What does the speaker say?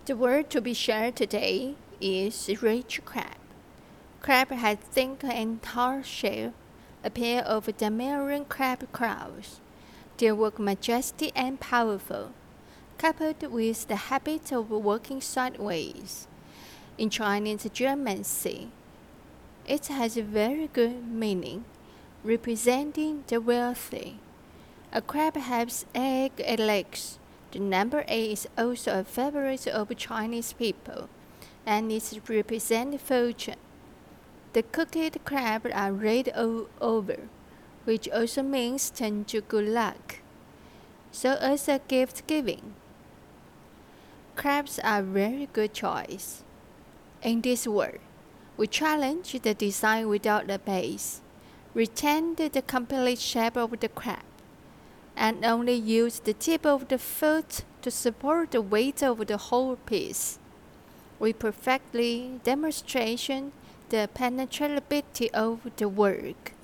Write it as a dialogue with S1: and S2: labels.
S1: The word to be shared today is rich crab. Crab has thick and hard shell, appear over the marine crab crowds. They work majestic and powerful, coupled with the habit of working sideways. In Chinese geomancy, it has a very good meaning, representing the wealthy. A crab has egg and legs. The number 8 is also a favorite of Chinese people, and it represents fortune. The cooked crabs are red all over, which also means turn to good luck. So as a gift giving, crabs are a very good choice. In this world, we challenge the design without a base, retain the complete shape of the crab, and only use the tip of the foot to support the weight of the whole piece. We perfectly demonstrate the penetrability of the work.